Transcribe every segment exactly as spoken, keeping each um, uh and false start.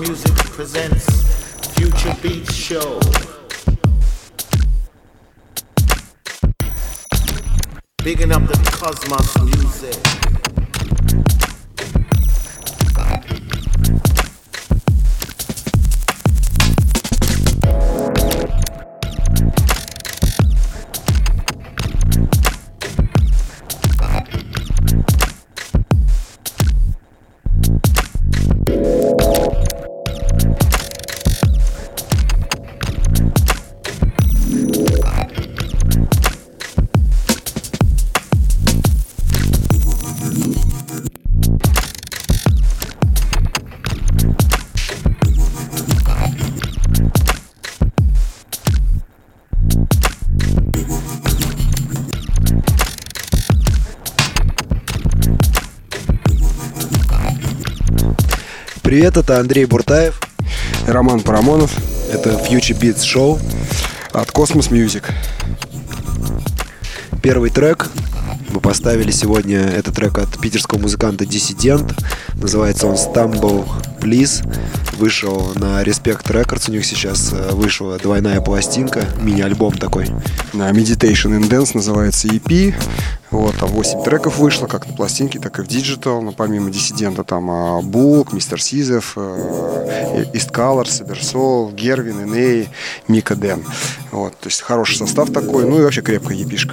Music presents Future Beats Show. Bigging up the Cosmos Music. Привет, это Андрей Буртаев и Роман Парамонов. Это Future Beats Show от Cosmos Music. Первый трек мы поставили сегодня. Это трек от питерского музыканта Dissident. Называется он Stumble Please. Вышел на Respect Records. У них сейчас вышла двойная пластинка, мини-альбом такой. На Meditation in Dance называется и пи. Вот, там восемь треков вышло, как на пластинке, так и в диджитал. Но помимо Диссидента там Бук, Мистер Сизов, East Color, Саберсол, Гервин, Эней, Мика Дэн. Вот, то есть хороший состав такой, ну и вообще крепкая епишка.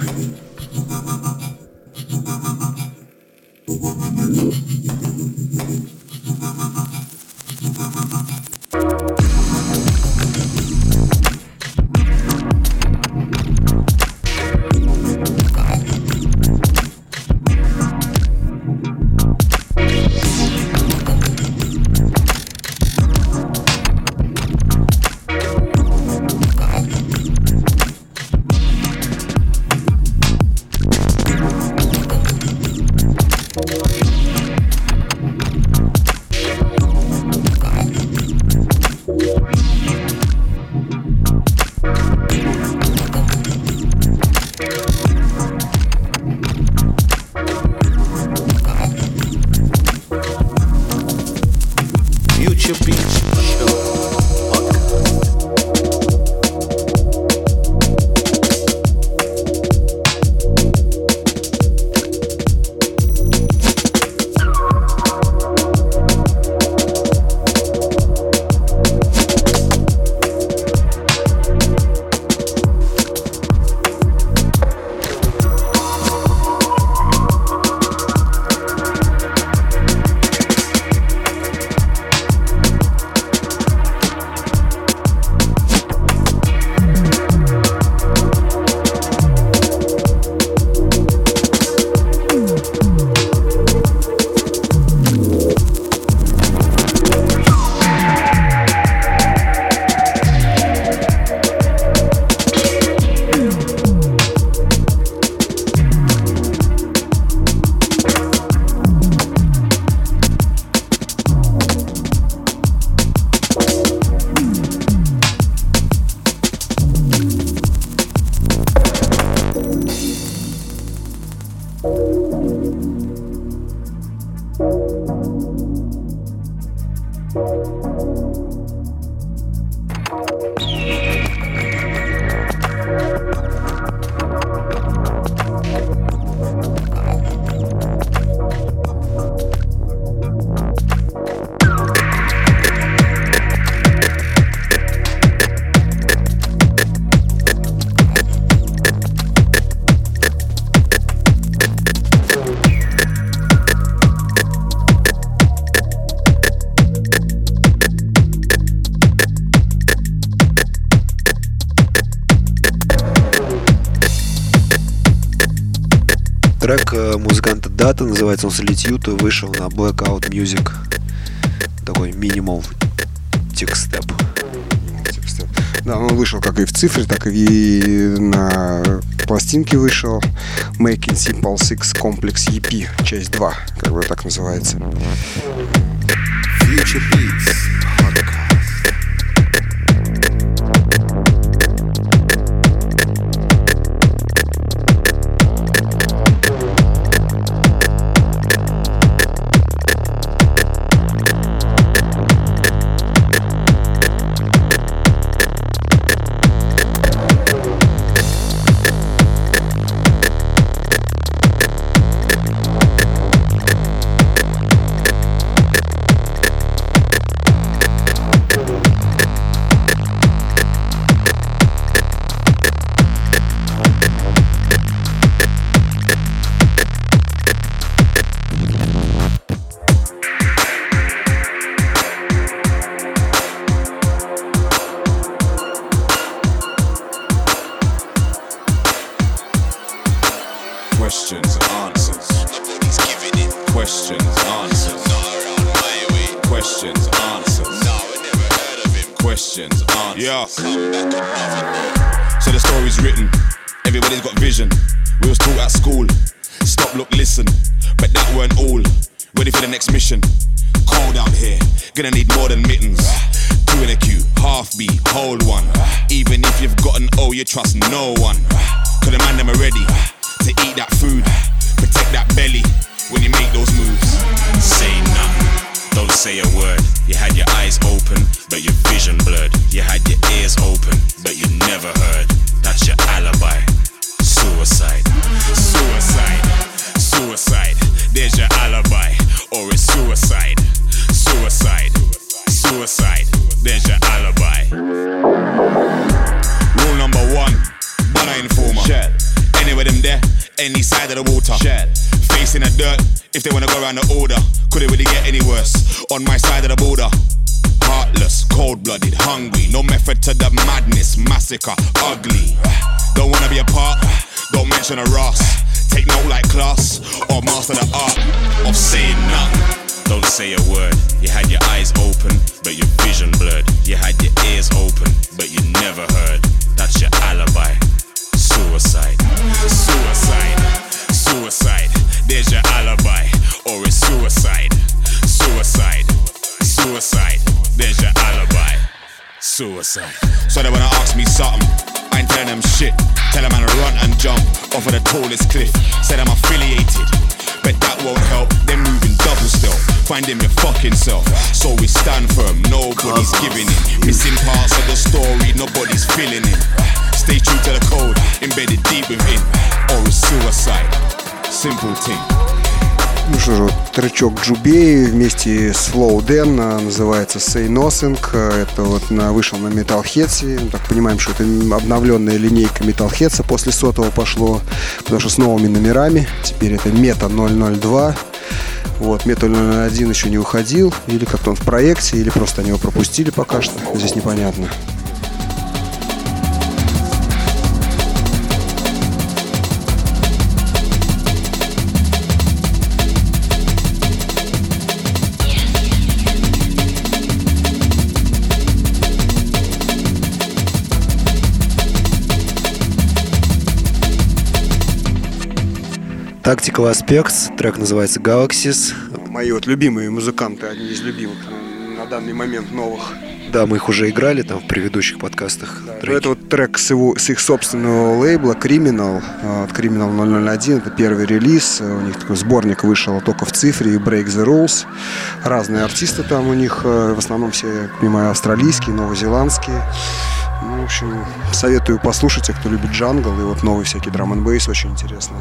Трек музыканта Data, называется он Solitude, вышел на Blackout Music. Такой минимал текстеп. Да, он вышел как и в цифре, так и на пластинке вышел. Making Simple Six Complex и пи, часть два, как бы так называется. Future Beats Podcast. questions, answers. Yeah. So the story's written, everybody's got vision. We was taught at school, stop, look, listen. But that weren't all, ready for the next mission. Cold out here, gonna need more than mittens. Two in a queue, half beat, hold one. Even if you've got an O, you trust no one. Cause the man them are ready to eat that food. Protect that belly when you make those moves. Say nothing, don't say a word. You had your eyes open, but your vision blurred. You had your ears open, but you never heard. That's your alibi. Suicide, suicide, suicide. There's your alibi, or it's suicide, suicide, suicide. There's your alibi. Rule number one, banana informer. Shell. Anywhere them there, any side of the water. Shell. Facing the dirt, if they wanna go around the order. Could it really get any worse? On my side of the border. Heartless, cold-blooded, hungry. No method to the madness, massacre, ugly. Don't wanna be a part, don't mention a Ross. Take note like class, or master the art of saying nothing. Don't say a word. You had your eyes open, but your vision blurred. You had your ears open, but you never heard. That's your alibi. Suicide, suicide, suicide. There's your alibi, or it's suicide, suicide, suicide. There's your alibi, suicide. So they wanna ask me something, I ain't telling them shit. Tell them I'm to run and jump off of the tallest cliff. Said I'm affiliated, but that won't help. They're moving double still. Find them your fucking self. So we stand firm, nobody's giving in. Missing parts of the story, nobody's filling in. Stay true to the code, embedded deep within. Or it's suicide, simple thing. Ну что же, вот тречок Джубей вместе с Flow Dan называется Say Nothing. Это вот на, вышел на Metalheads. Мы так понимаем, что это обновленная линейка Metalheads после сотого пошло, потому что с новыми номерами. Теперь это Meta ноль ноль два. Вот, Meta ноль ноль один еще не уходил, или как-то он в проекте, или просто они его пропустили пока что. Здесь непонятно. Tactical Aspects, трек называется Galaxies. Мои вот любимые музыканты, одни из любимых на данный момент новых. Да, мы их уже играли там в предыдущих подкастах. Да, это вот трек с, его, с их собственного лейбла Criminal, от Criminal ноль ноль один, это первый релиз. У них такой сборник вышел только в цифре, Break the Rules. Разные артисты там у них, в основном все, я понимаю, австралийские, новозеландские. Ну, в общем, советую послушать, те, кто любит джангл, и вот новый всякий драм-н-бейс очень интересный.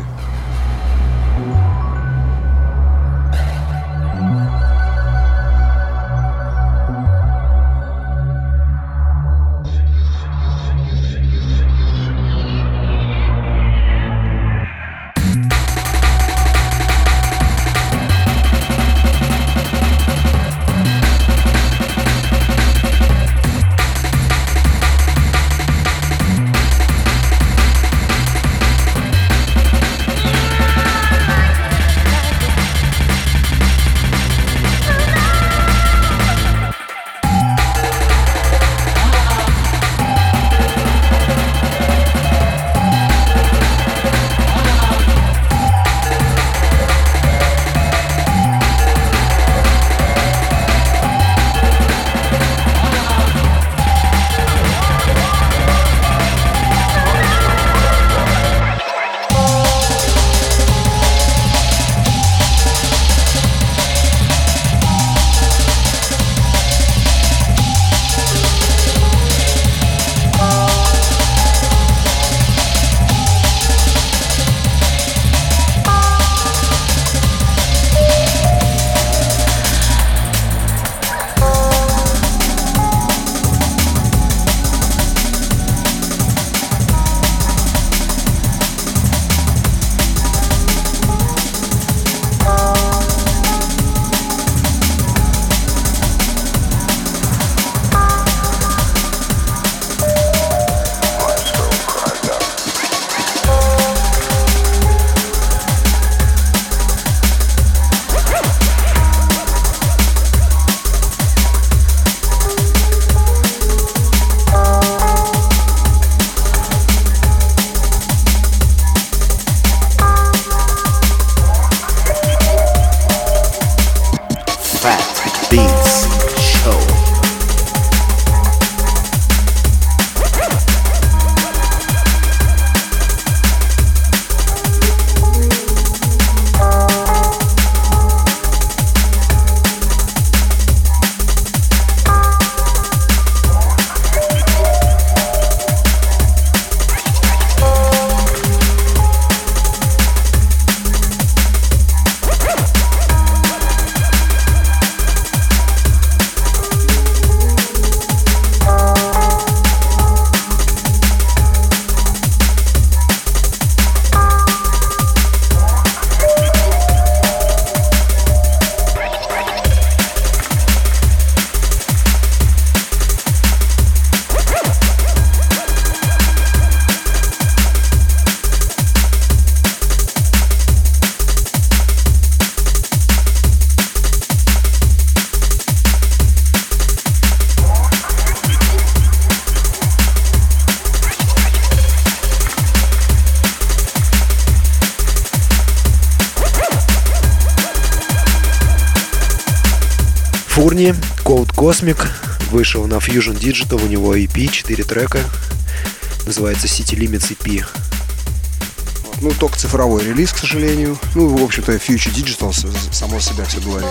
Калифорнии, Cold Cosmic, вышел на Fusion Digital, у него и пи, четыре трека, называется City Limits и пи. Ну, только цифровой релиз, к сожалению. Ну, в общем-то, Future Digital само себя все говорит.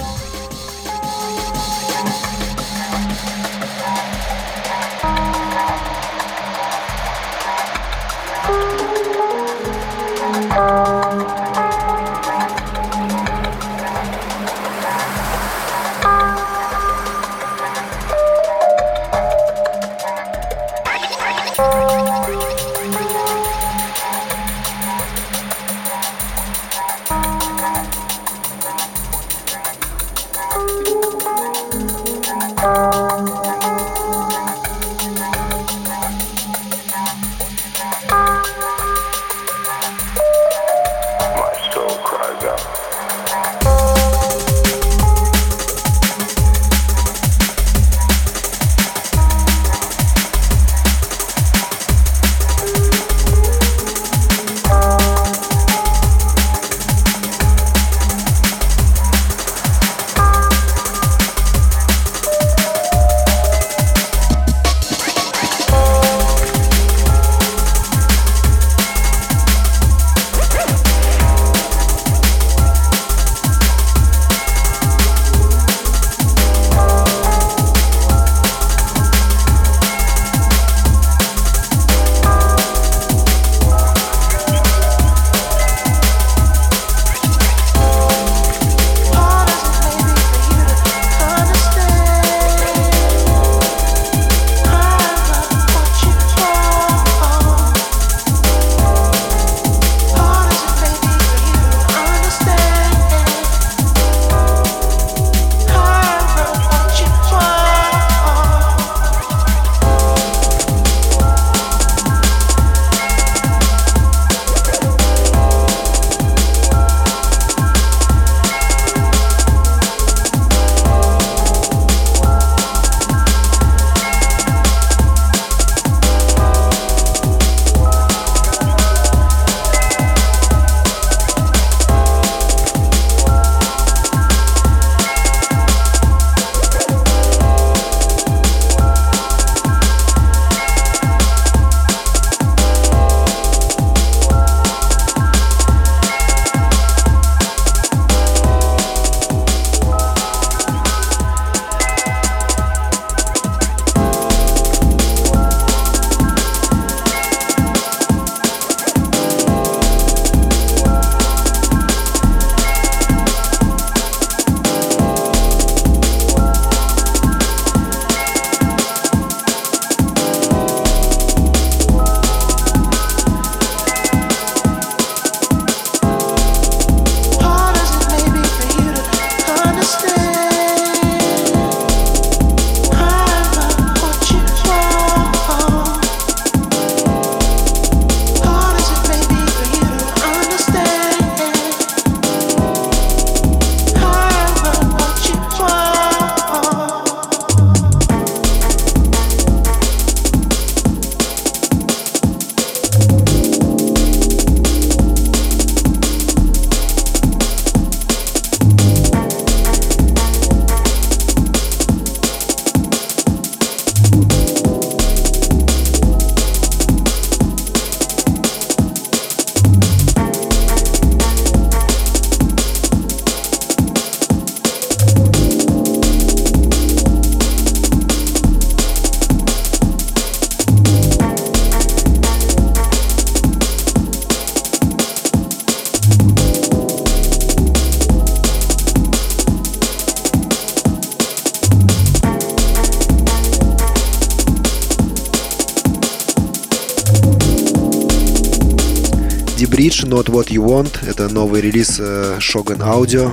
Bridge, Not What You Want. Это новый релиз э, Shogun Audio.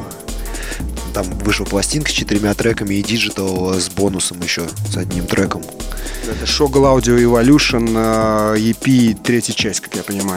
Там вышла пластинка с четырьмя треками и диджитал с бонусом еще, с одним треком. Это Shogun Audio Evolution, э, и пи, третья часть, как я понимаю.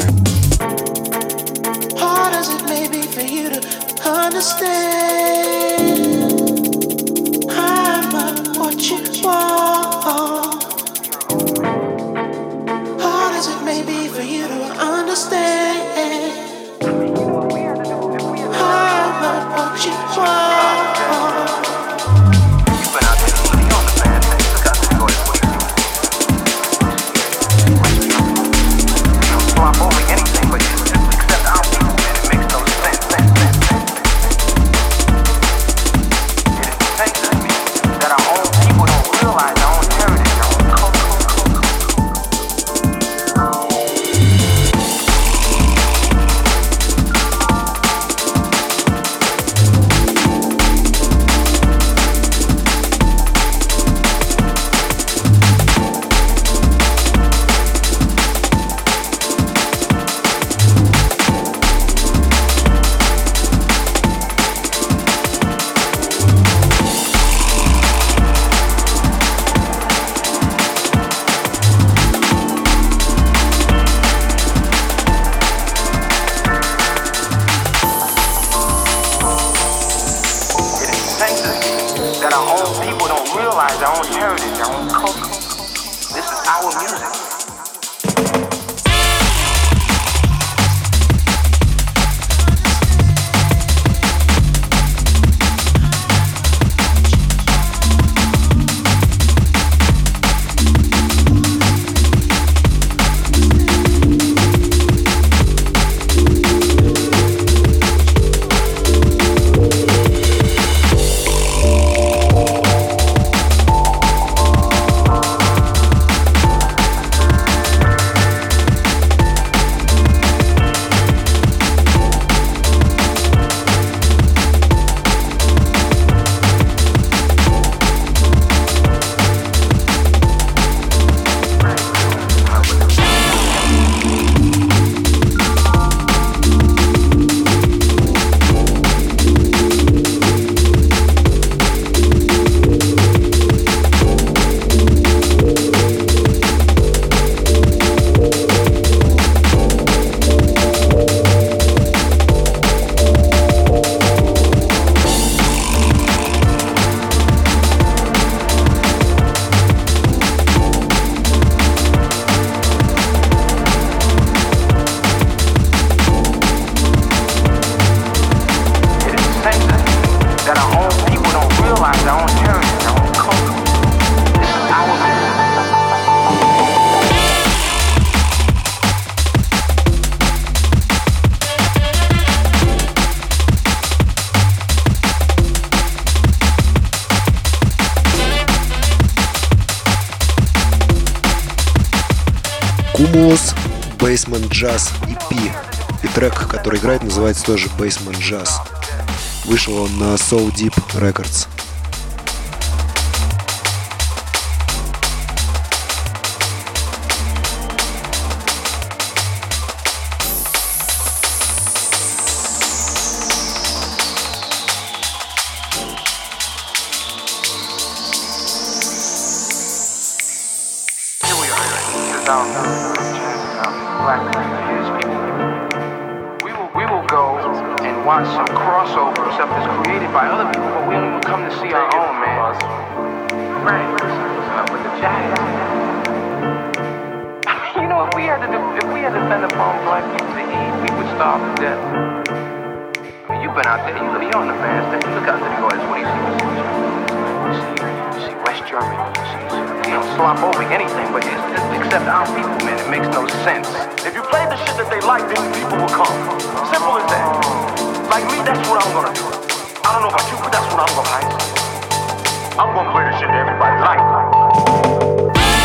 realize our own heritage, our own culture. This is our music. Cumulus Basement Jazz и пи. И трек, который играет, называется тоже Basement Jazz. Вышел он на So Deep Records. Watch some crossover stuff that's created by other people, but we don't even come to see our own, man. Right. Uh, with the jazz. I mean, you know, if we had to, do, if we had to depend upon black people to eat, we would starve to death. I mean, you've been out there, you look, you're on the bandstand, you look out there, you go, what do you see? You see, you see West Germany, you see, you know, slop over anything, but it's, it's, except our people, man, it makes no sense. If you play the shit that they like, then people will come. Simple as that. Like me, that's what I'm gonna do. I don't know about you, but that's what I'm gonna do. I'm gonna play the shit that everybody likes.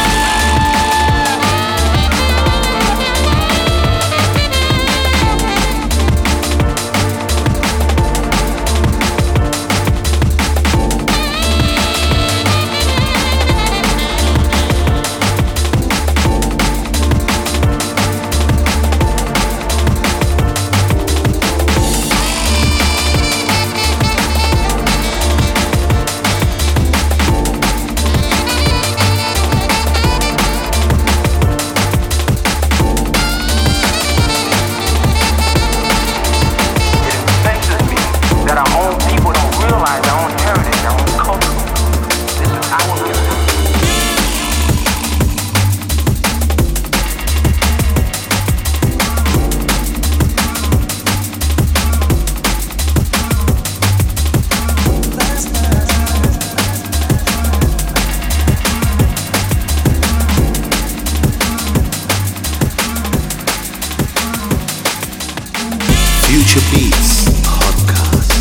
Future Beats Podcast.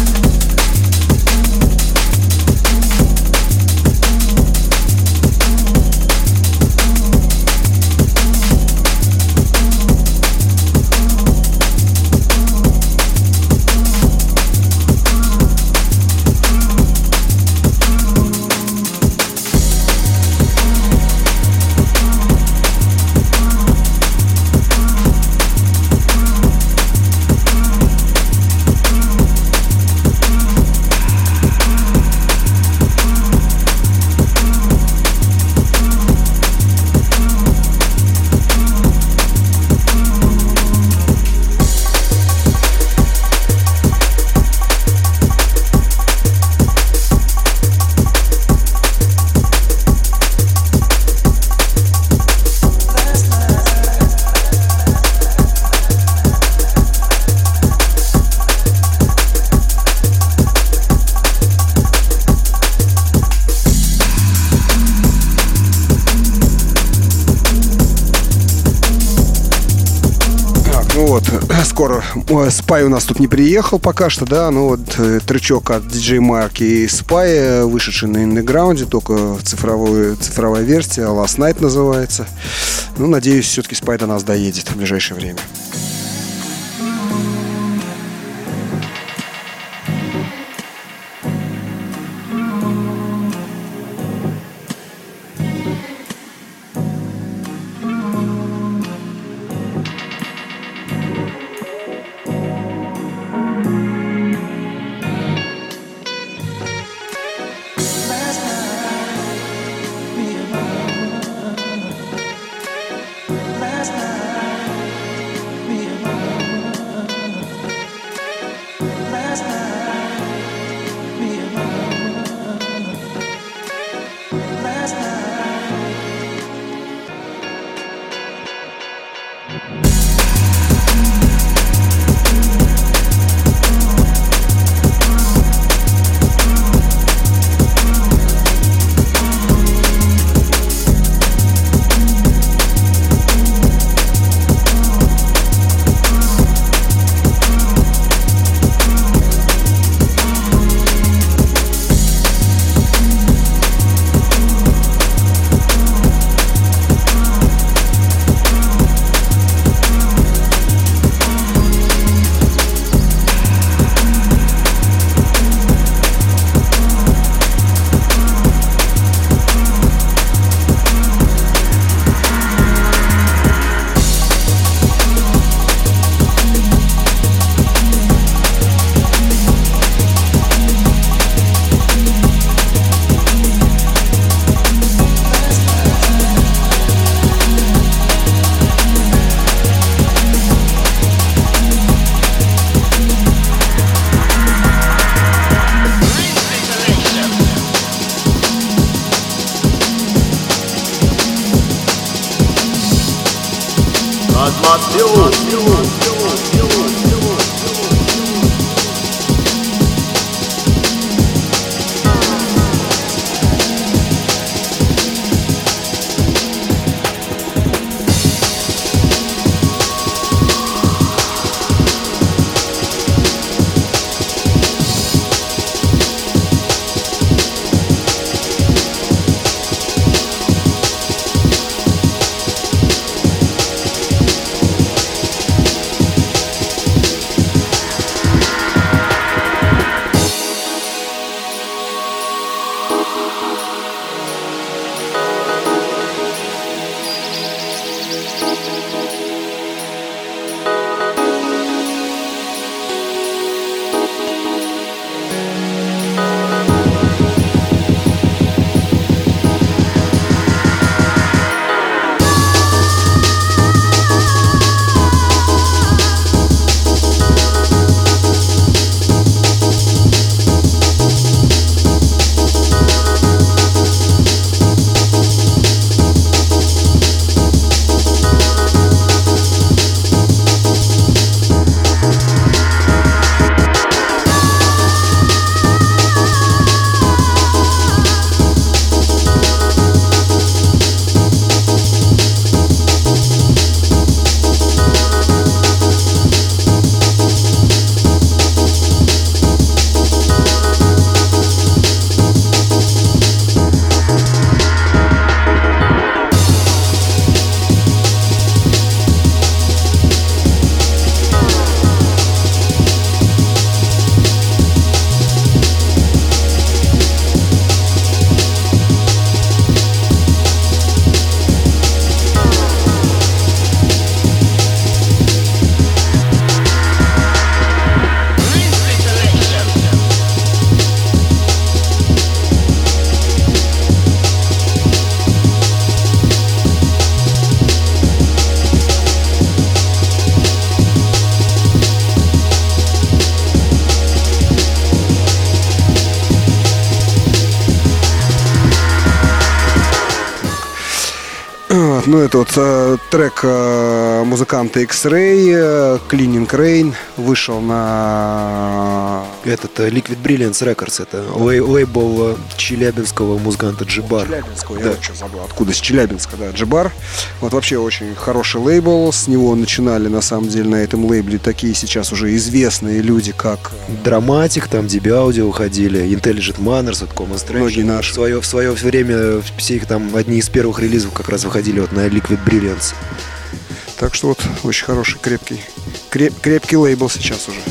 Ну вот, скоро Spy у нас тут не приехал пока что, да, но вот тречок от ди джей Mark и Spy, вышедший на Underground, только цифровую, цифровая версия, Last Night называется. Ну, надеюсь, все-таки Spy до нас доедет в ближайшее время. Ну, это вот э, трек э, музыканта X-Ray, э, Cleaning Rain, вышел на Этот э, Liquid Brilliance Records, это лей- лейбл э, челябинского музыканта Джибар. Челябинского, Да. я вот что забыл, откуда, с Челябинска, да, Джибар. Вот вообще очень хороший лейбл, с него начинали на самом деле на этом лейбле такие сейчас уже известные люди, как Драматик, там ди би Audio уходили, Intelligent Manners, вот Common Strange. Многие наши. В свое, в свое время все их там одни из первых релизов как раз выходили вот на Liquid Brilliance. Так что вот очень хороший, крепкий, креп, крепкий лейбл сейчас уже.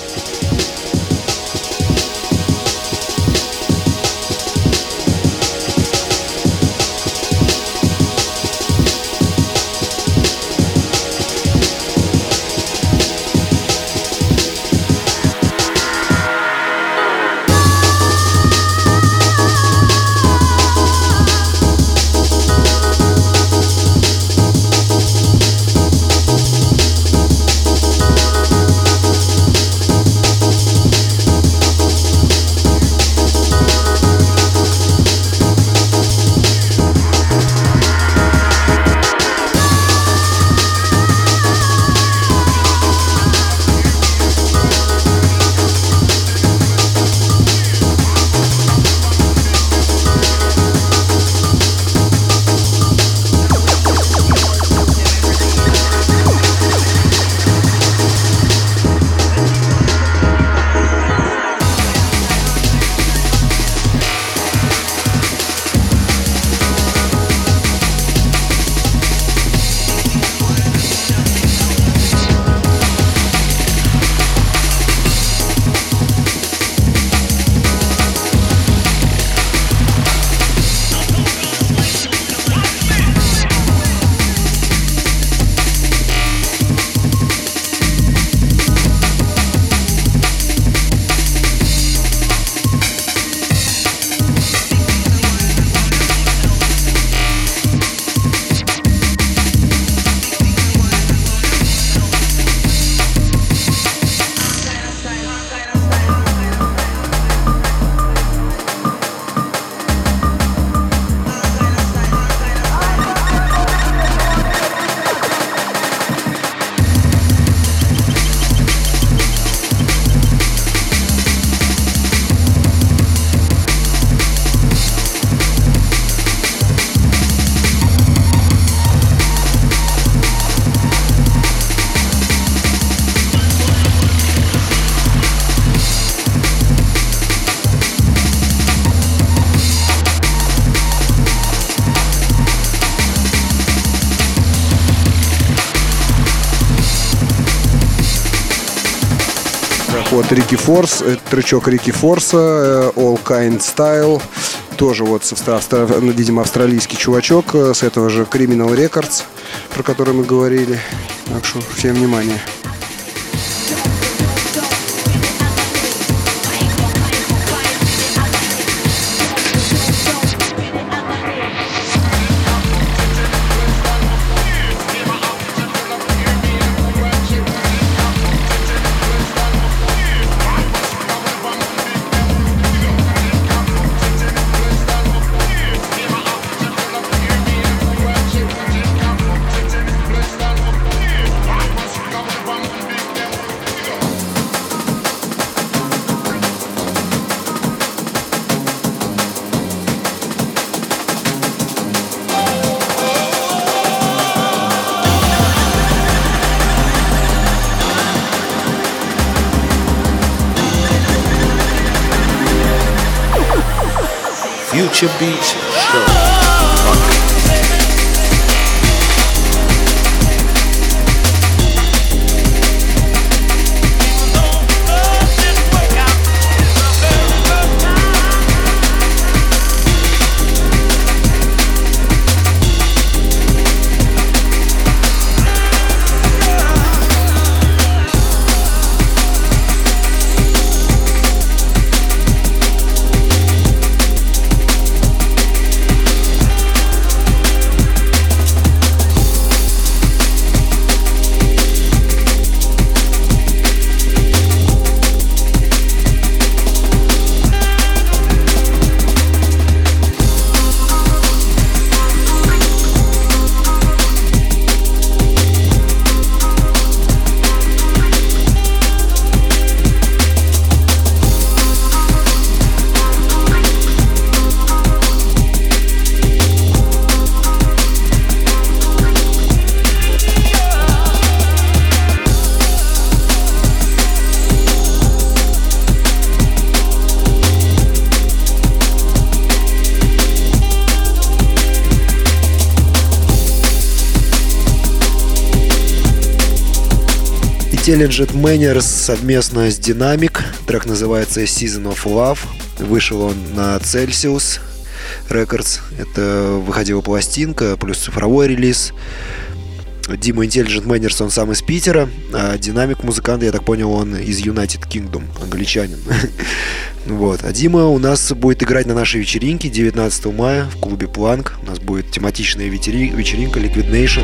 Вот Рики Форс, это тречок Рики Форса, All Kind Style, тоже вот, австро, видимо, австралийский чувачок с этого же Criminal Records, про который мы говорили. Так что всем внимание. Future Beats Show. Intelligent Manners совместно с Dynamic. Трек называется Season of Love. Вышел он на Celsius Records. Это выходила пластинка, плюс цифровой релиз. Дима Intelligent Manners, он сам из Питера, а Dynamic музыкант, я так понял, он из United Kingdom, англичанин. Вот. А Дима у нас будет играть на нашей вечеринке девятнадцатого мая в клубе Plank. У нас будет тематичная вечеринка Liquid Nation.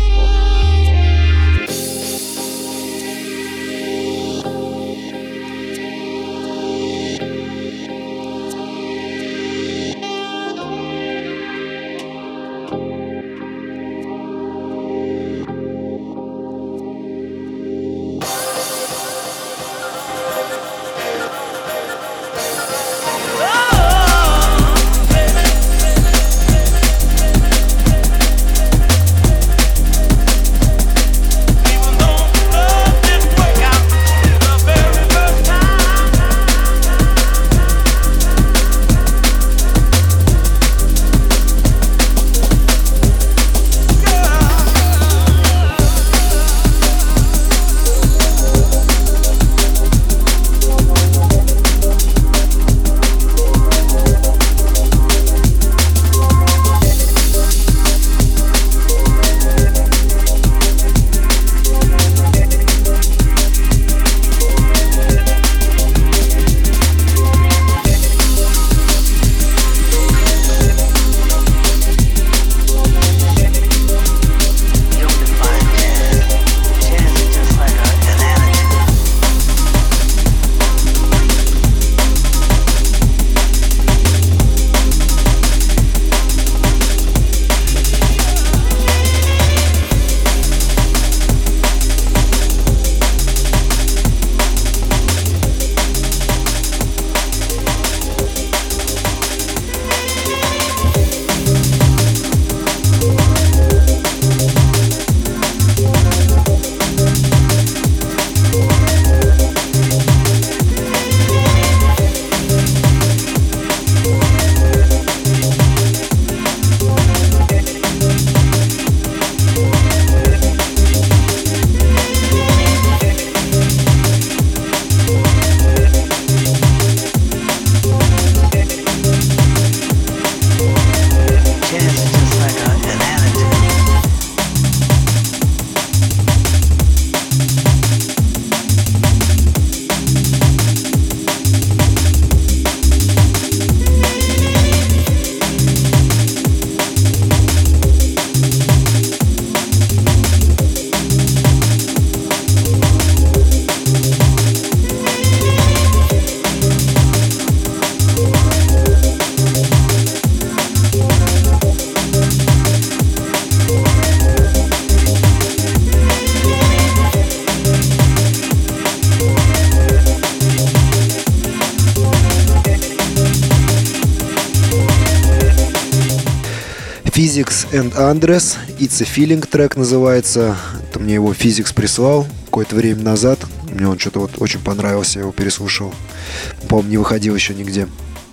Physics and Andres, It's a Feeling трек называется. Это мне его Physics прислал какое-то время назад. Мне он что-то вот очень понравился, я его переслушал. По-моему, не выходил еще нигде.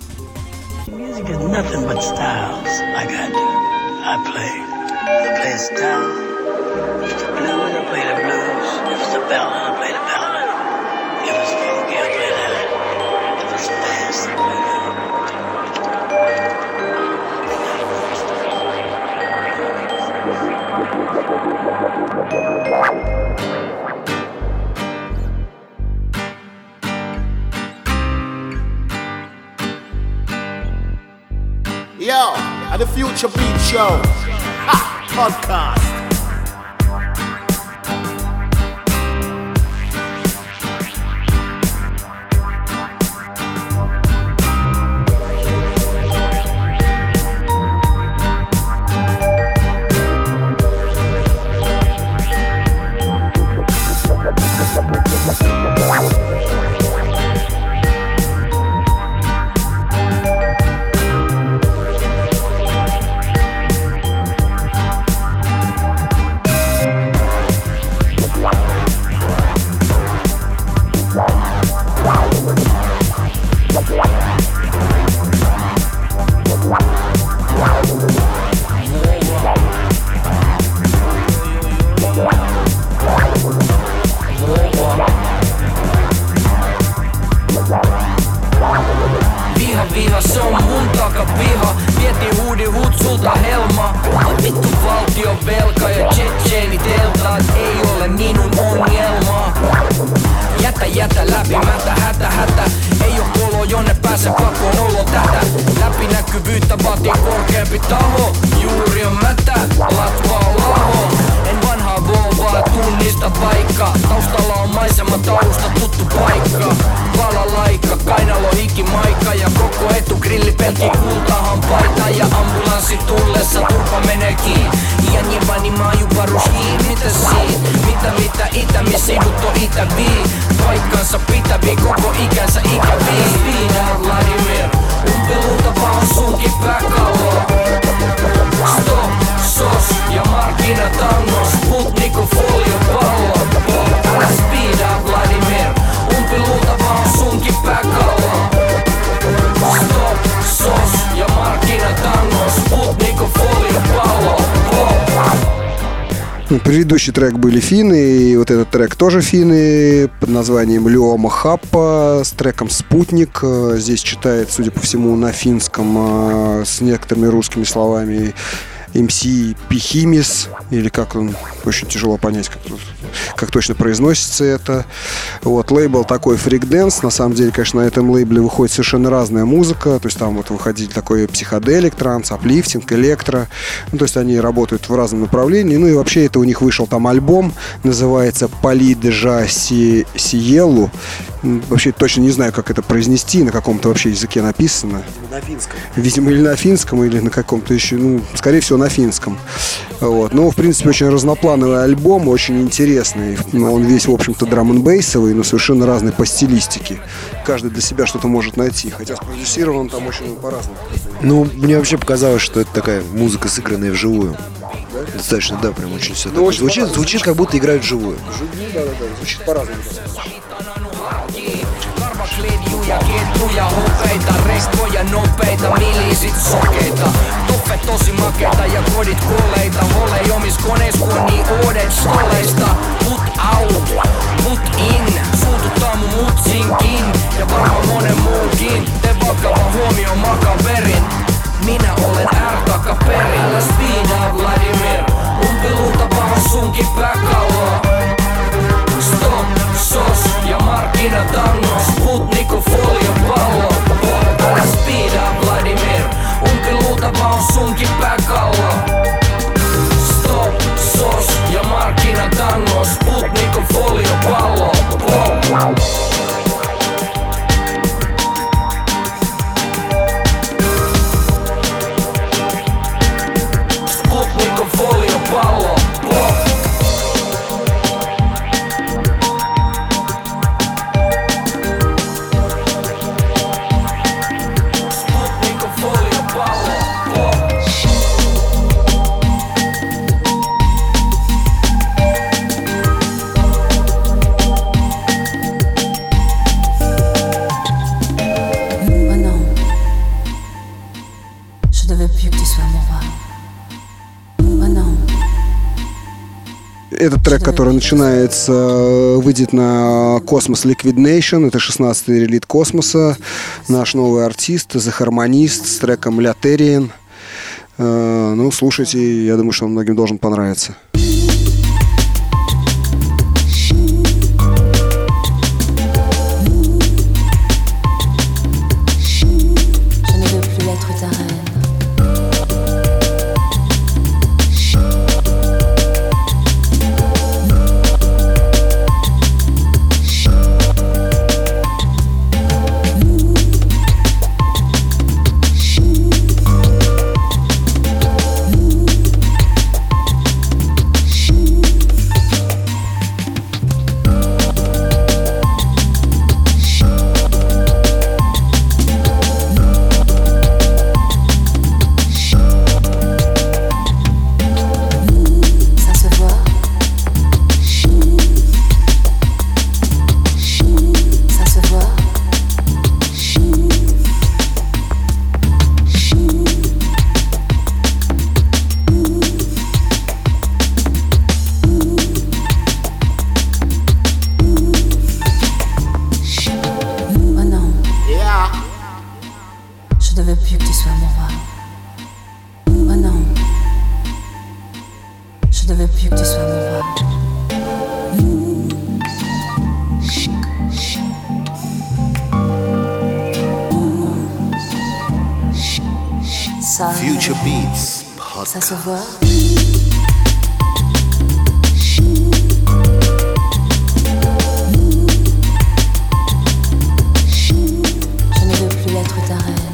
Music is nothing but styles. I got to. I play. I play a style. If it's the blues, I play the blues. If it's the ballad, I play the ballad. If it's funky, I play that. If it's fast, I play that. Yo, at the Future Beat Show ha, podcast. pääse pakoon olo tätä. Läpinäkyvyyttä vaatii korkeampi taho. Juuri on mätä, latva on laho. En vanhaa Volvoa tunnista vaikka. Taustalla on maisema tausta tuttu paikka. Valalaikka, kainalo hikimaikka. Ja koko etu grillipelki kultahan paita. Ja ambulanssi tullessa turpa menee kiinni. Iän jevani maajuparus hiin, mitä siin? Mitä mitä itä, missä sivut on itävii? Paikkansa pitävii, koko ikänsä ikävii. Speed out Vladimir, umpiluuta vaan sunkin pääkallo. Stop, sos ja markkinatangos, Sputnik on foliopallo. Älä speed out Vladimir, umpiluuta vaan sunkin pääkallo. Stop, sos ja markkinatangos, Sputnik on foliopallo. Предыдущий трек были финны, и вот этот трек тоже финны под названием Леома Хаппа с треком «Спутник». Здесь читает, судя по всему, на финском с некоторыми русскими словами эм си Пихимис, или как он, очень тяжело понять, как, как точно произносится это. Вот, лейбл такой Freak Dance. На самом деле, конечно, на этом лейбле выходит совершенно разная музыка. То есть там вот выходили такой психоделик, транс, аплифтинг, электро. Ну, то есть они работают в разном направлении. Ну и вообще это у них вышел там альбом, называется «Пали Джа Сиелу». Вообще точно не знаю, как это произнести, на каком-то вообще языке написано. На финском. Видимо, или на финском, или на каком-то еще, ну, скорее всего, на финском. Вот. Но, в принципе, очень разноплановый альбом, очень интересный. Он весь, в общем-то, драм-н-бейсовый, но совершенно разный по стилистике. Каждый для себя что-то может найти. Хотя спродюсирован он там очень по-разному. Ну, мне вообще показалось, что это такая музыка, сыгранная вживую. Да? Достаточно, да, прям очень все. Ну, очень звучит, звучит, как будто играют вживую. Вживую, да, да, да. Звучит по-разному. Ketjuja, ketjuja, hopeita, rekkoja, nopeita, miliisit sokeita. Toppe tosi makeita ja kodit koleita. Ole omis koneis kun on niin uudet stoleista. Put out, put in, suututtaa mun mutsinkin. Ja varmaan monen muunkin. Tee vakava huomio makaverin. Minä olen R-takaperin. Älä speed out Vladimir, umpiluuta vaan sunkin pääkalloa. Stop, sos ja markkinatango, Sputnik on foliopallo. Älä speed up Vladimir, umpiluuta vaan sunkin pääkallo. Stop, sos ja markkinatango, Sputnik on foliopallo. Sputnik on foliopallo. Этот трек, который начинается, выйдет на Cosmos Liquid Nation. Это шестнадцатый релиз Космоса. Наш новый артист, The Harmonist, с треком Laterian. Ну, слушайте, я думаю, что он многим должен понравиться. Future Beats Ça se voit. Je ne veux plus être ta reine.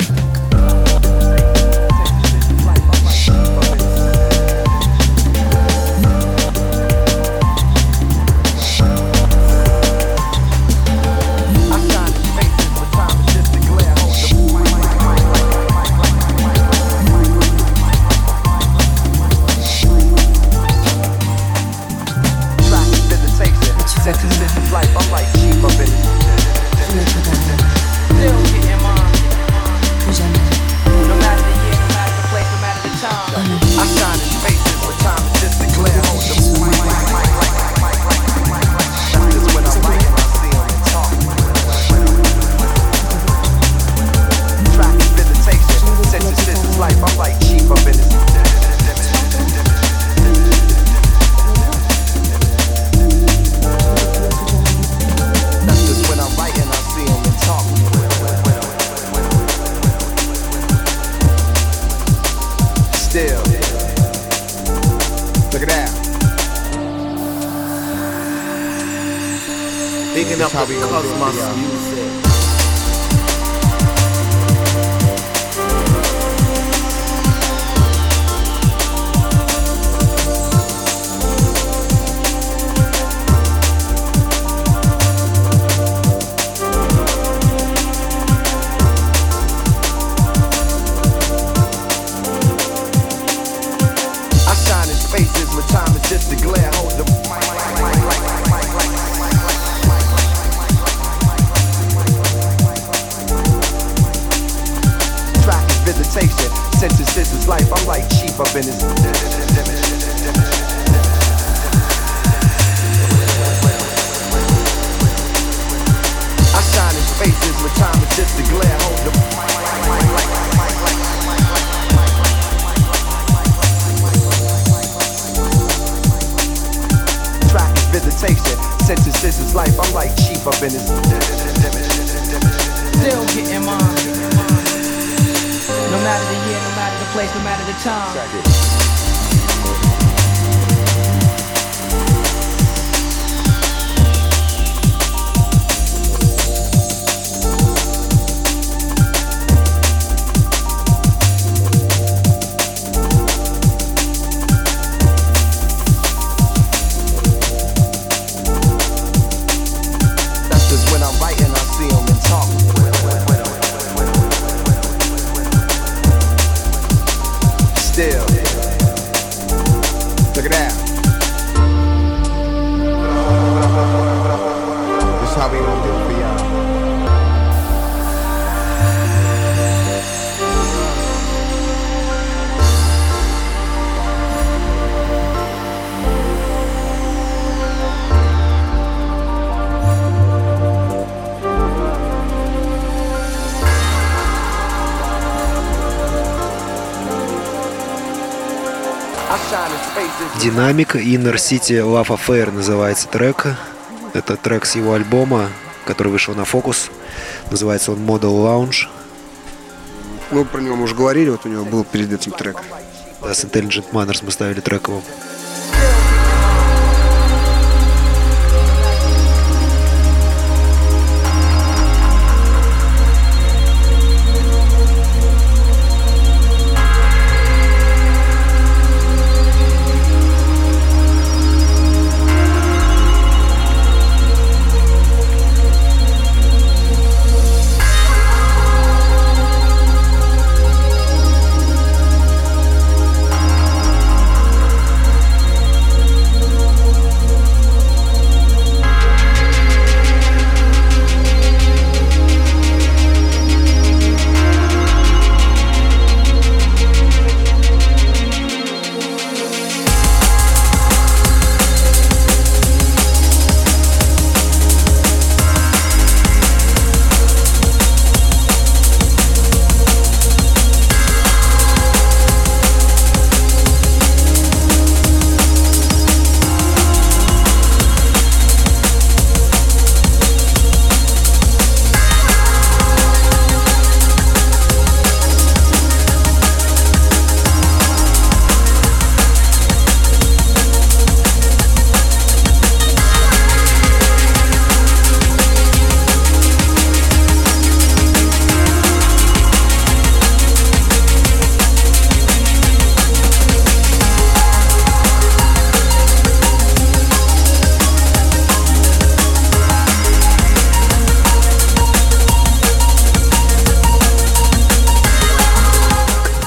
Picking up the Cosmos music. I shine in spaces where time is just a glare. Hold the visitation, synthesis is life. I'm like cheap up in this. I shine in spaces where time is just a glare. Hold the track is visitation, synthesis is life. I'm like cheap up in this. Still getting mine. No matter the year, no matter the place, no matter the time. That's just when I'm writing, I see them and talk. Still, look at that. This is how we gonna do it for y'all. Динамик, Inner City Love Affair называется трек. Это трек с его альбома, который вышел на Focus. Называется он Model Lounge. Мы про него уже говорили, вот у него был перед этим трек. Да, с Intelligent Manners мы ставили трек его.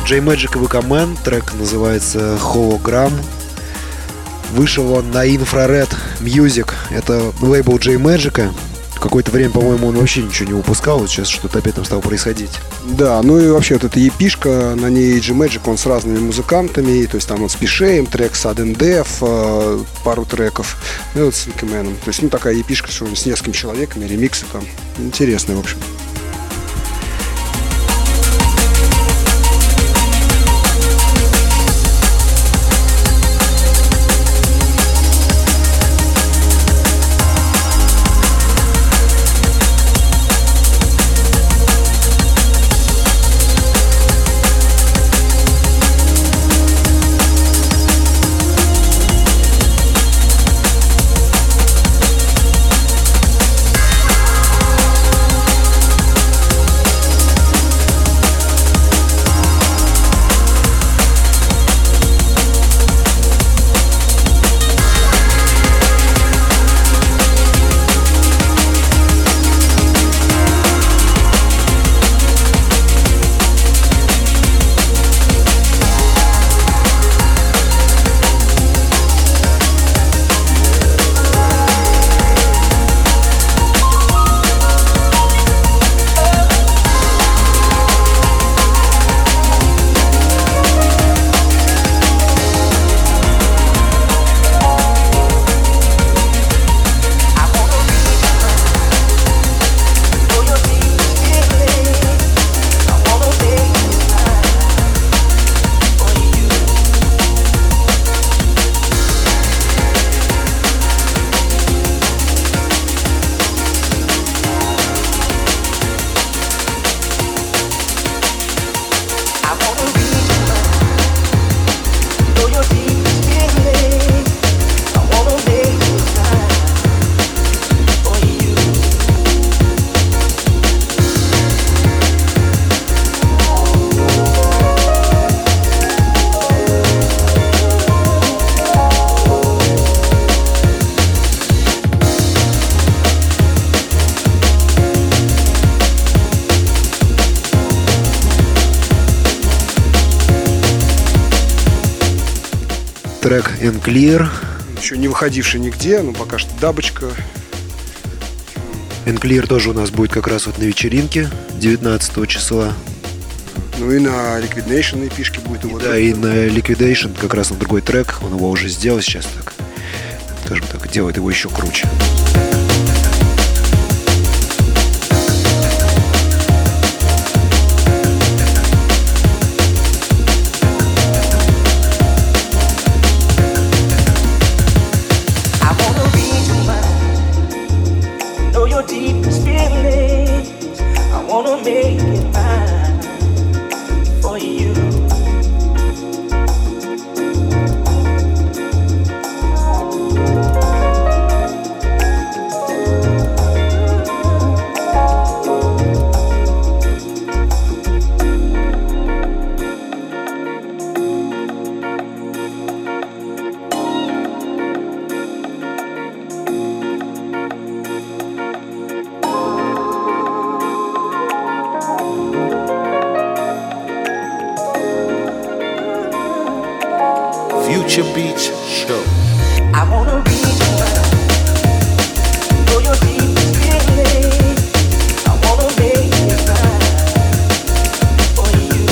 J-Magic и ви кей Man, трек называется Hologram. Вышел он на Infrared Music, это лейбл J-Magic. Какое-то время, по-моему, он вообще ничего не выпускал, вот сейчас что-то опять там стало происходить. Да, ну и вообще вот эта епишка, на ней J-Magic, он с разными музыкантами, то есть там вот с Пишеем, трек Sudden Death, пару треков, ну и вот с ви кей Man. То есть, ну, такая епишка, что с несколькими человеками, ремиксы там, интересные, в общем. Трек And Clear. Еще не выходивший нигде, но пока что дабочка. And Clear тоже у нас будет как раз вот на вечеринке девятнадцатого числа. Ну и на Liquidation эпишке будет его. Да, и на Liquidation как раз на другой трек. Он его уже сделал сейчас так, скажем так, делает его еще круче. Future Beats Show. I wanna read your mind, know your deepest feeling. I wanna make it mine for you.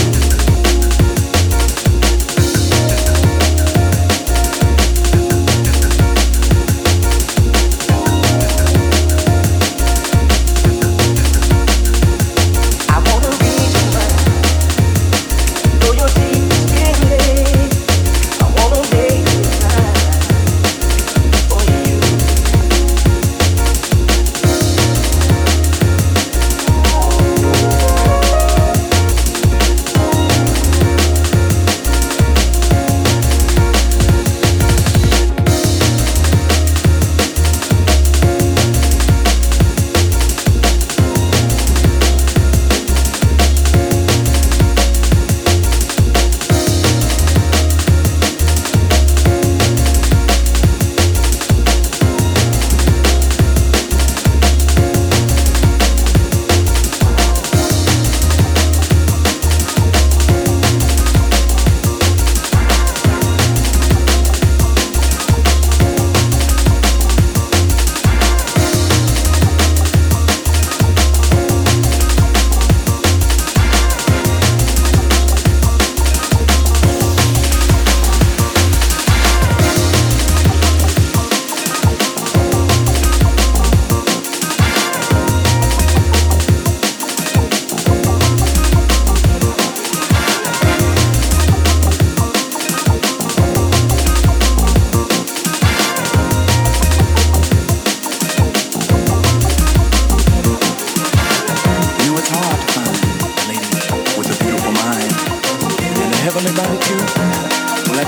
I wanna read your mind, know your deepest feeling. I wanna make it mine for you.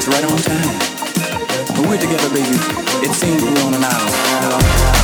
that's right on time. When we're together, baby, it seems we're on an island.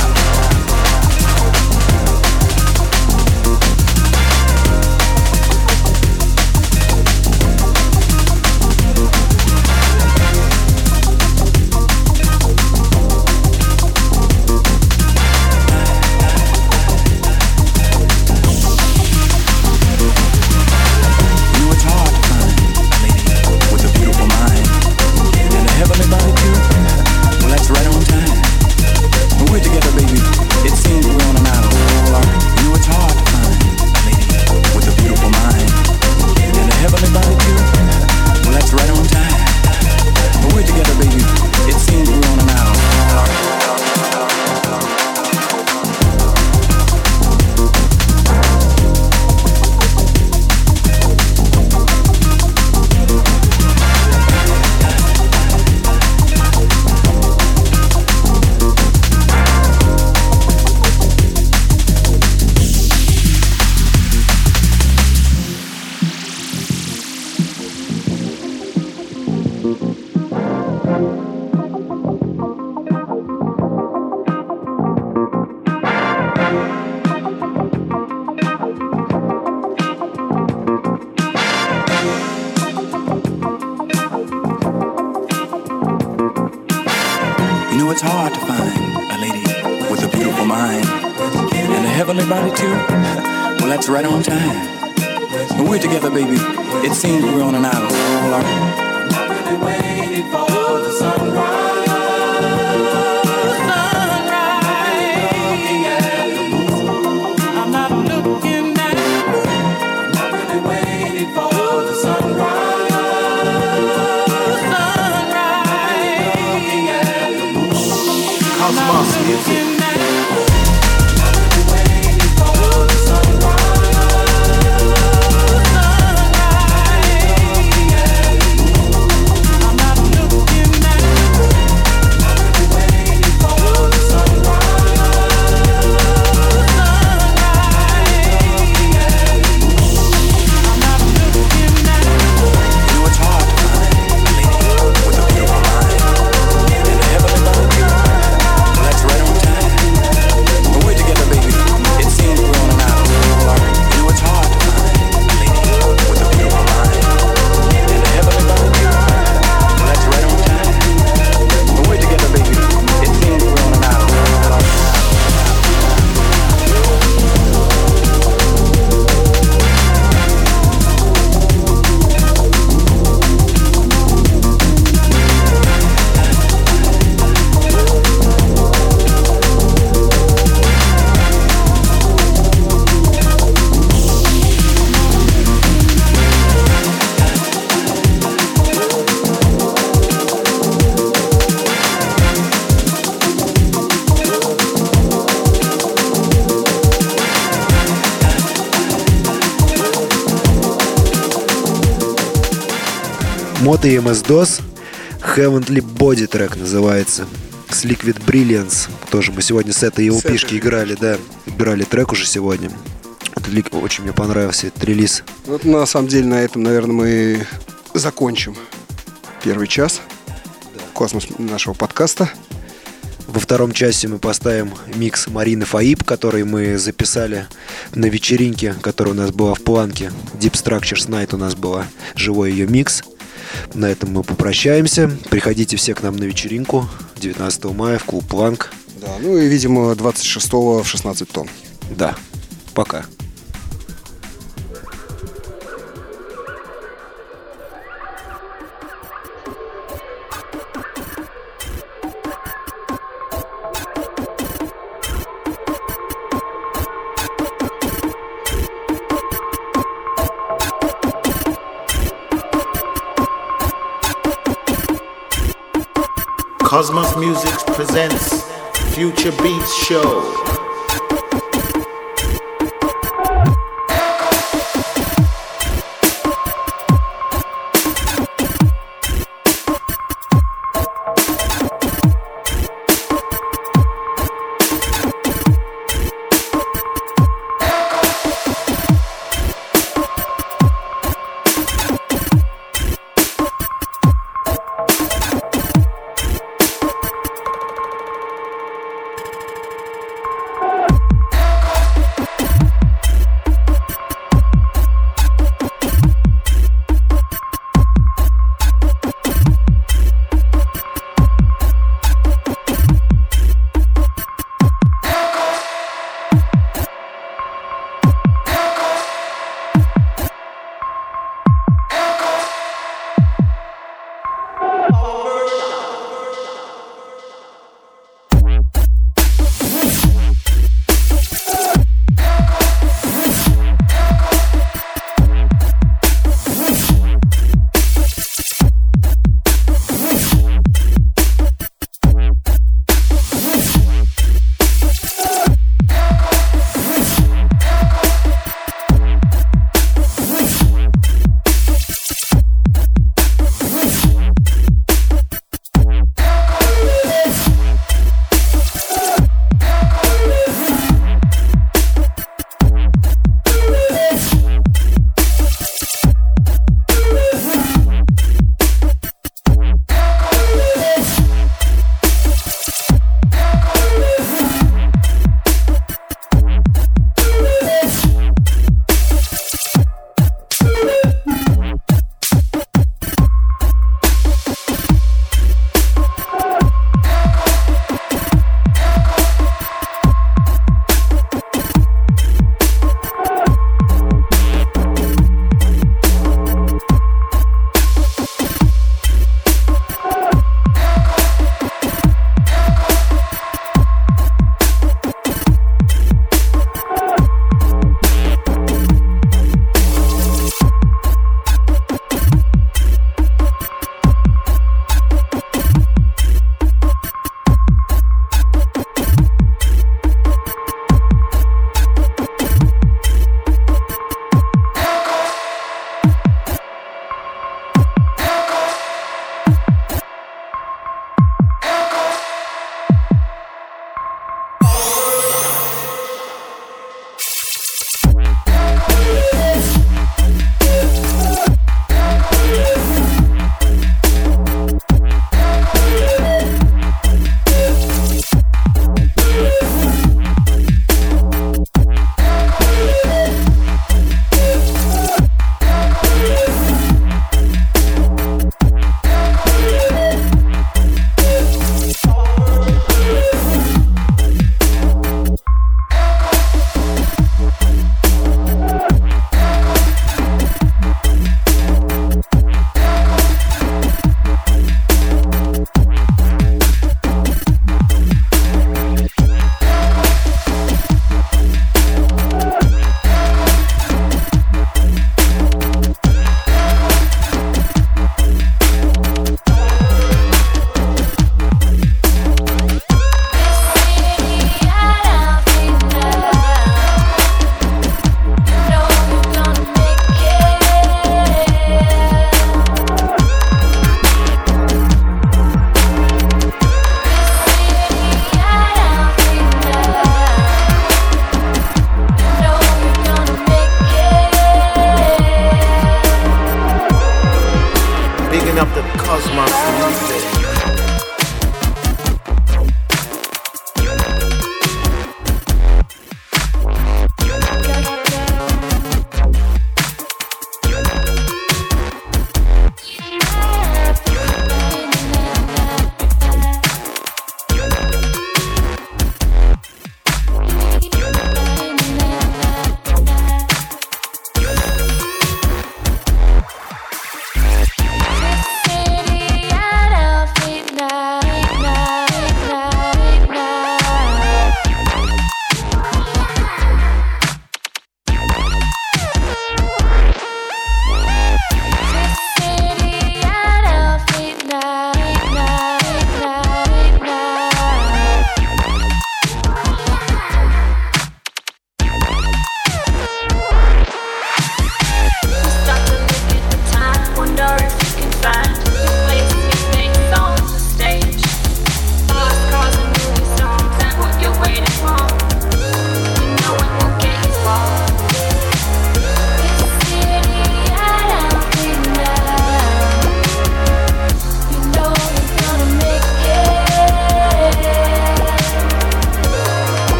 Moto и эм эс-дос, Heavenly Body трек называется, с Liquid Brilliance. Тоже мы сегодня с этой эл пи-шки играли, да, играли трек уже сегодня. Очень мне понравился этот релиз. Вот на самом деле на этом, наверное, мы закончим первый час да. Космос нашего подкаста. Во втором часе мы поставим микс Марины Фаиб, который мы записали на вечеринке, которая у нас была в Планке. Deep Structures Night у нас была, живой ее микс. На этом мы попрощаемся. Приходите все к нам на вечеринку девятнадцатого мая в клуб Планк. Да, ну и, видимо, двадцать шестого в шестнадцать тонн. Да, пока. Cosmos Music presents Future Beats Show.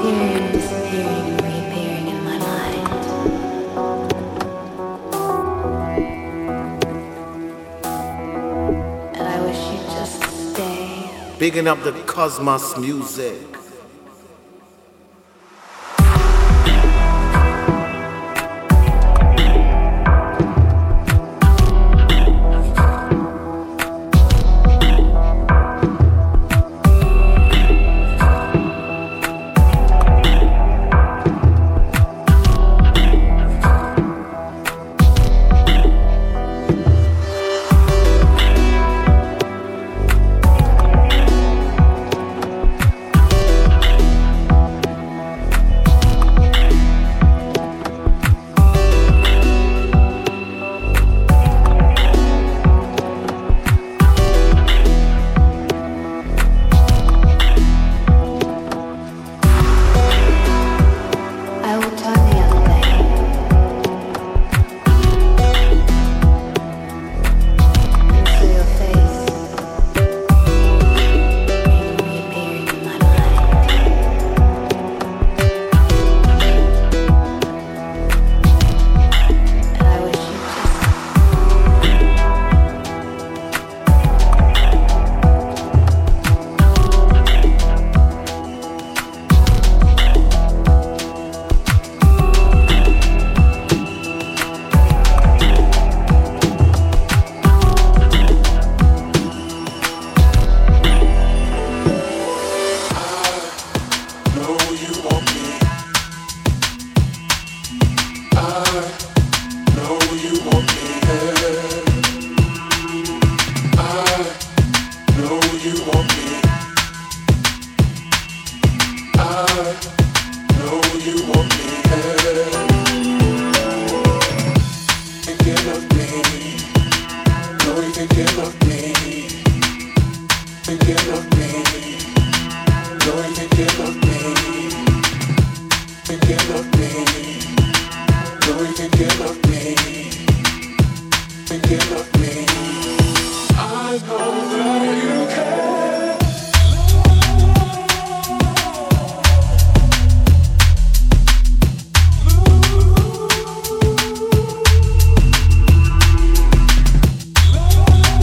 Reappearing, disappearing, and reappearing in my mind. And I wish you'd just stay. Bigging up the Cosmos music.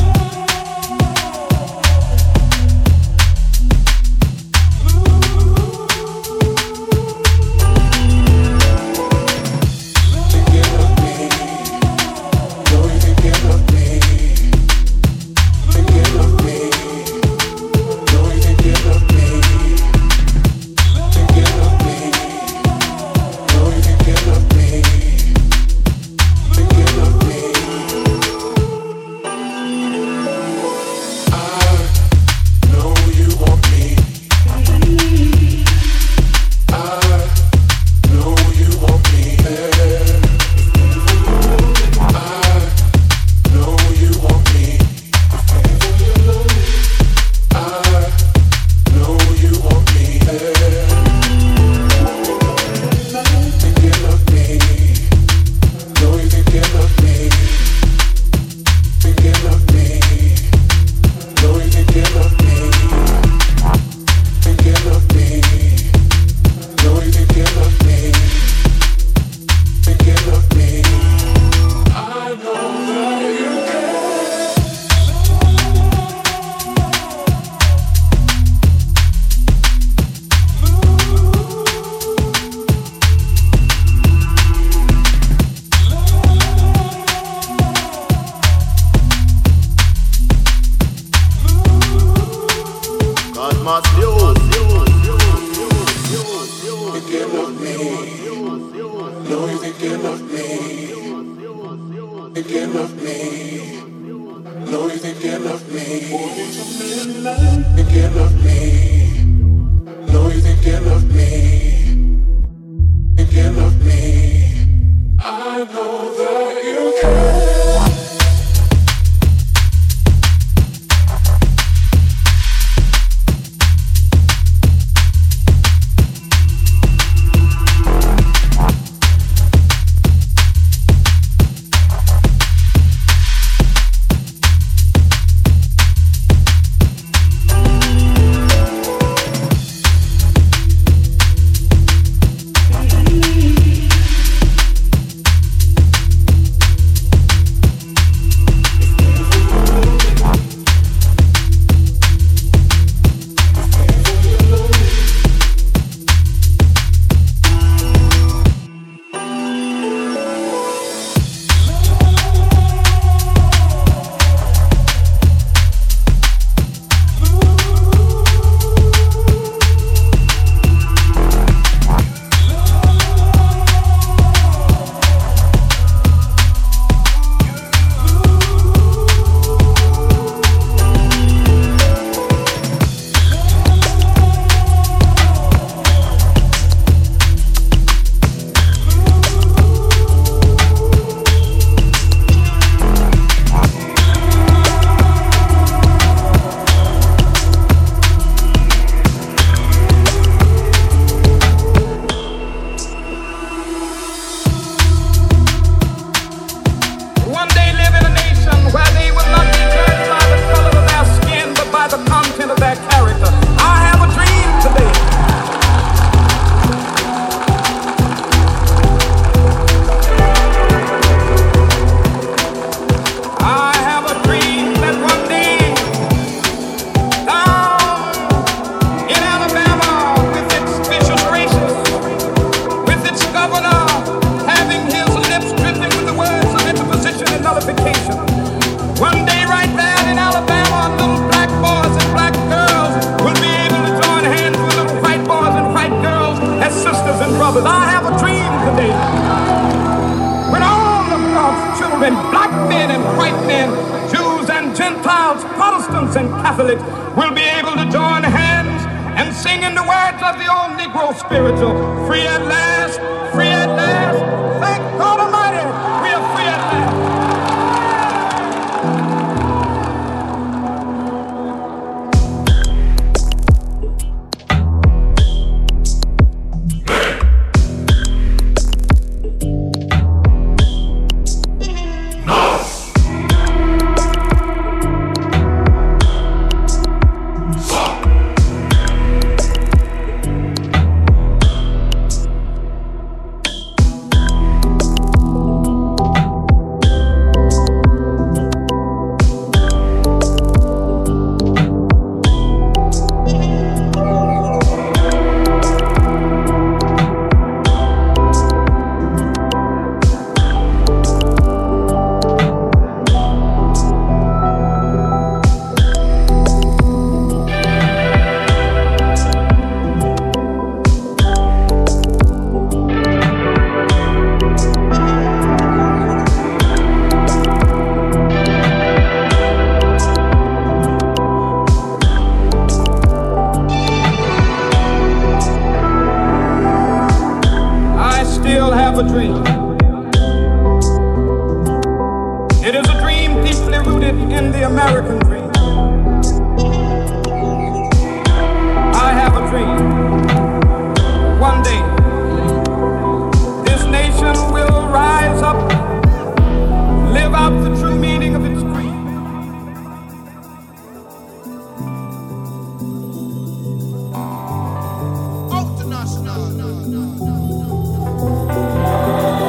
Ooh. brothers, I have a dream today. When all of God's children, black men and white men, Jews and Gentiles, Protestants and Catholics, will be able to join hands and sing in the words of the old Negro spiritual, free at last, free at last. Thank God Almighty, we are free at last. A dream. It is a dream deeply rooted in the American dream. I have a dream. One day, this nation will rise up, live out the true meaning of its creed. Oh,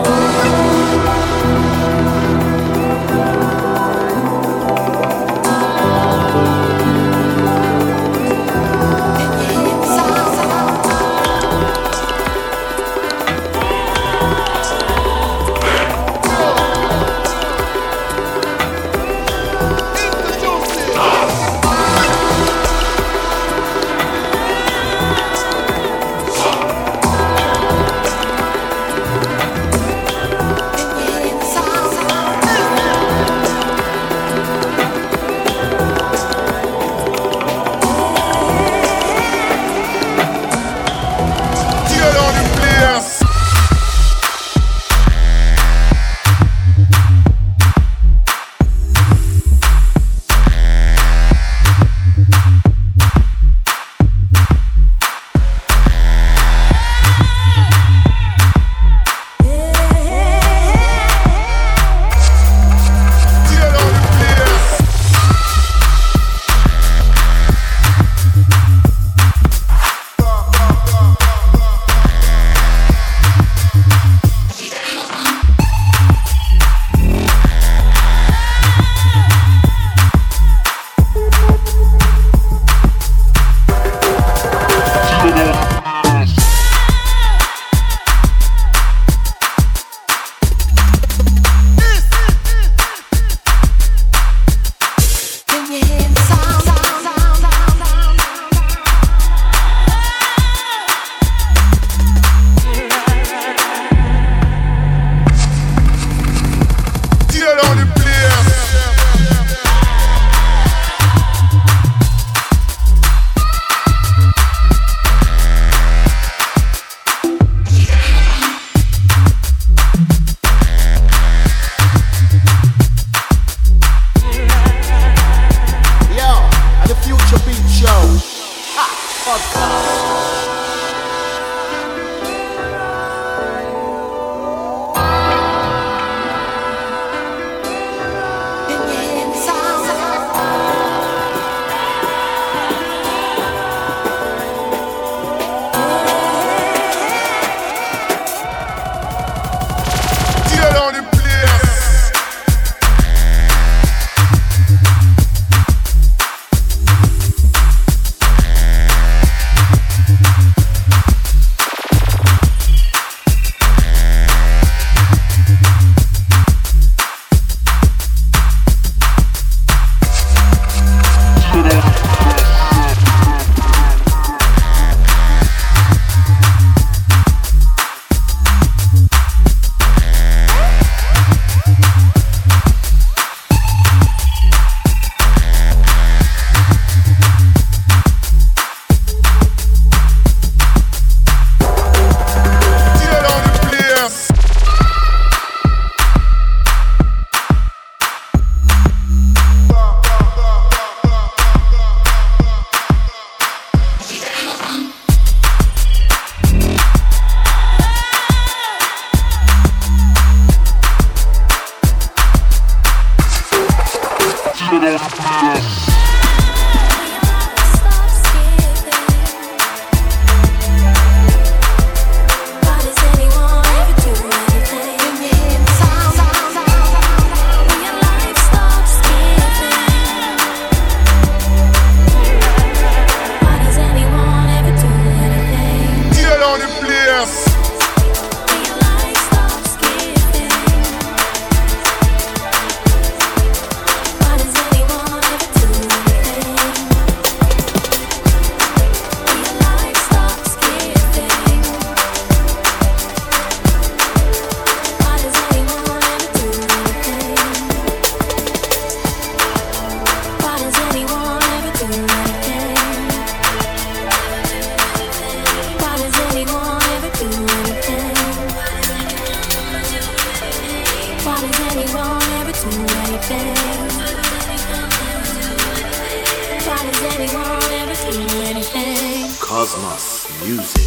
Cosmos Music.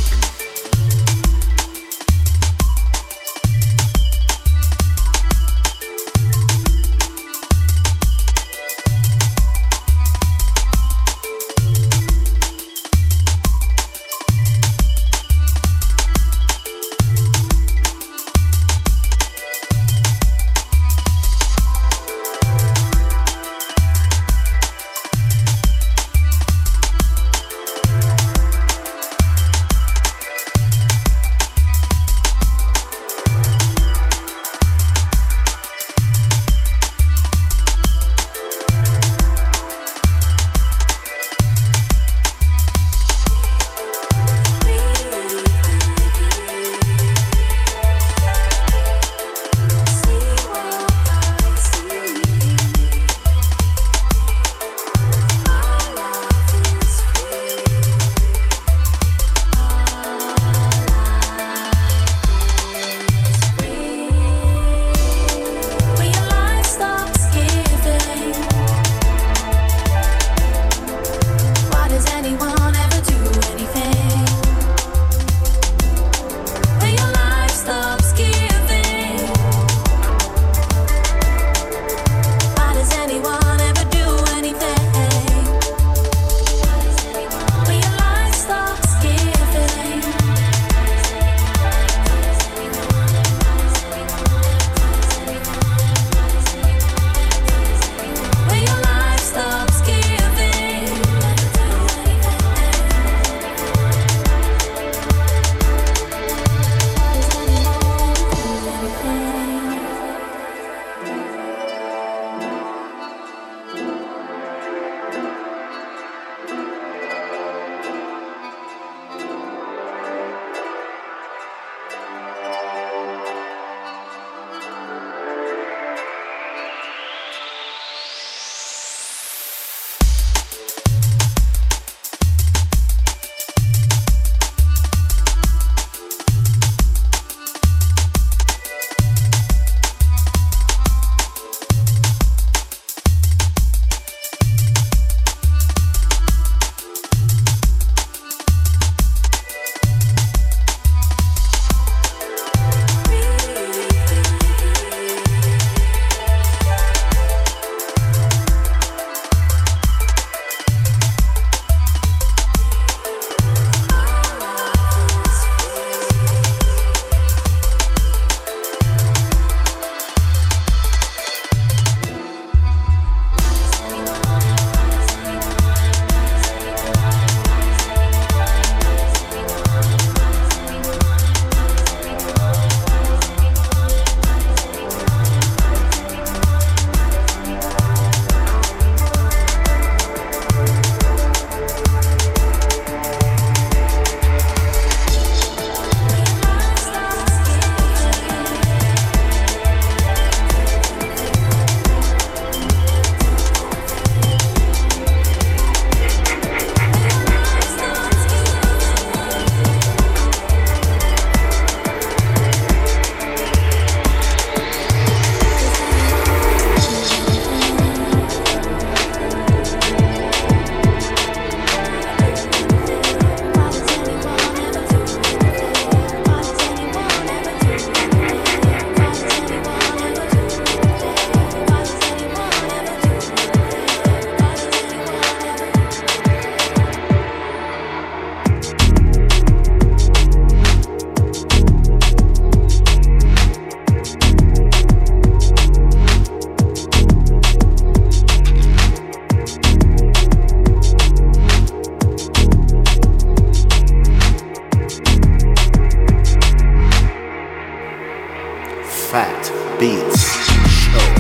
Fat Beats Show.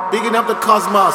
Bigging up the cosmos.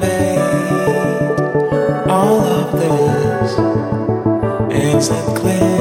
All of this isn't clear.